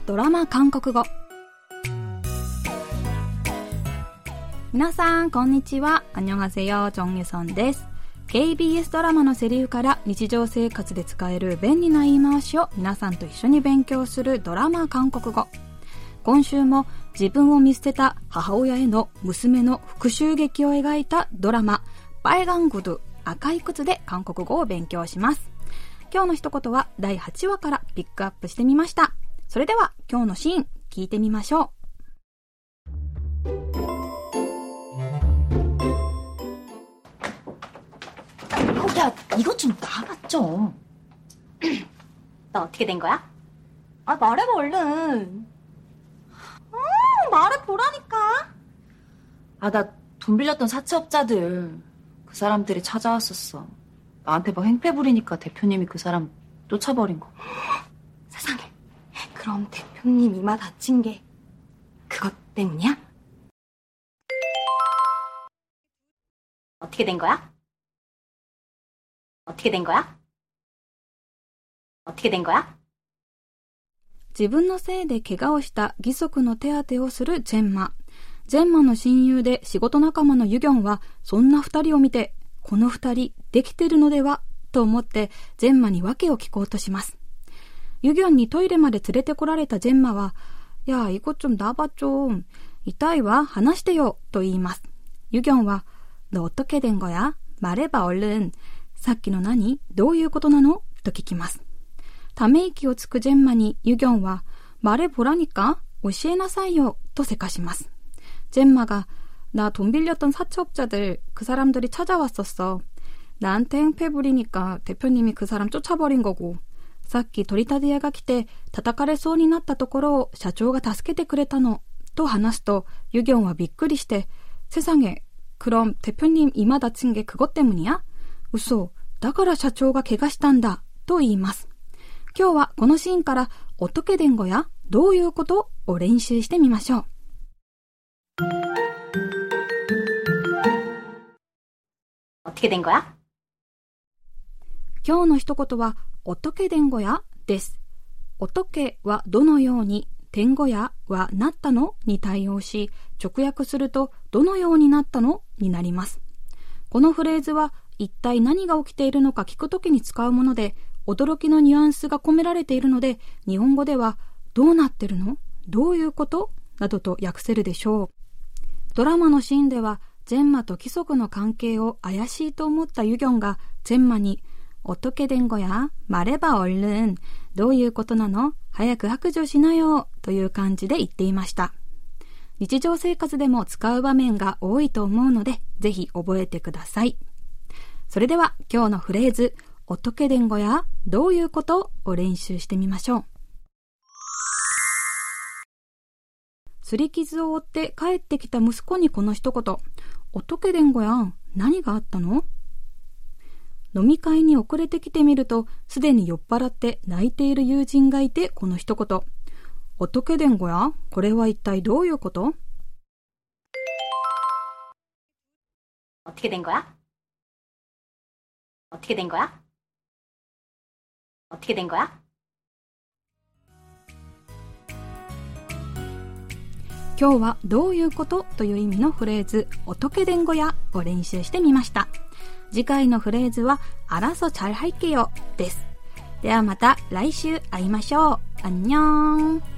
ドラマ韓国語。皆さんこんにちは。안녕하세요。정유선です。KBS ドラマのセリフから日常生活で使える便利な言い回しを皆さんと一緒に勉強するドラマ韓国語。今週も自分を見捨てた母親への娘の復讐劇を描いたドラマ빨간 구두赤い靴で韓国語を勉強します。今日の一言は第8話からピックアップしてみました。それでは今日のシーン聞いてみましょう。 야, 이것 좀 놔봐 좀. 너 어떻게 된 거야? 아, 말해봐 얼른. 말해보라니까. 아, 나 돈 빌렸던 사채업자들 그 사람들이 찾아왔었어. 나한테 막 행패 부리니까 대표님이 그 사람 쫓아버린 거. 세상에. 그럼 대표님 이마 다친 게 그것 때문이야? 어떻게 된 거야? 어떻게 된 거야? 어떻게 된 거야? 自分のせいで怪我をした義足の手当てをするジェンマ。ジェンマの親友で仕事仲間のユギョンはそんな二人を見て、この二人できてるのではと思ってジェンマに訳を聞こうとします。ユギョンにトイレまで連れてこられたジェンマは、やあ、이것 좀 놔봐 좀。痛いわ、話してよと言います。ユギョンは、너 어떻게 된 거야? 말해봐 얼른。さっきの何？どういうことなの？と聞きます。ため息をつくジェンマにユギョンは、말해보라니까？教えなさいよとせかします。ジェンマが、나 돈 빌렸던 사채업자들 그 사람들이 찾아왔었어. 나한테 행패 부리니까 대표님이 그 사람 쫓아버린 거고. さっき取り立て屋が来て叩かれそうになったところを社長が助けてくれたのと話すとユギョンはびっくりして세상에 그럼 대표님 이마 다친 게 그것 때문이야?嘘だから社長が怪我したんだと言います。今日はこのシーンから어떻게 된 거야? どういうことを練習してみましょう。 어떻게 된 거야? 今日の一言は어떻게 된 거야? です。어떻게はどのように、된 거야はなったのに対応し、直訳するとどのようになったのになります。このフレーズは一体何が起きているのか聞くときに使うもので、驚きのニュアンスが込められているので、日本語ではどうなってるの？どういうこと？などと訳せるでしょう。ドラマのシーンでは、ジェンマと規則の関係を怪しいと思ったユギョンがジェンマに어떻게 된 거야? 말해봐 얼른. どういうことなの？早く白状しなよという感じで言っていました。日常生活でも使う場面が多いと思うので、ぜひ覚えてください。それでは今日のフレーズ、어떻게 된 거야? どういうことを練習してみましょう。擦り傷を負って帰ってきた息子にこの一言、어떻게 된 거야? 何があったの？飲み会に遅れてきてみると、すでに酔っ払って泣いている友人がいて、この一言。어떻게 된 거야? これは一体どういうこと？ 어떻게 된 거야? 어떻게 된 거야? 어떻게 된 거야? 今日はどういうことという意味のフレーズ、어떻게 된 거야?を練習してみました。次回のフレーズは알아서 잘 할게요です。ではまた来週会いましょう。안녕。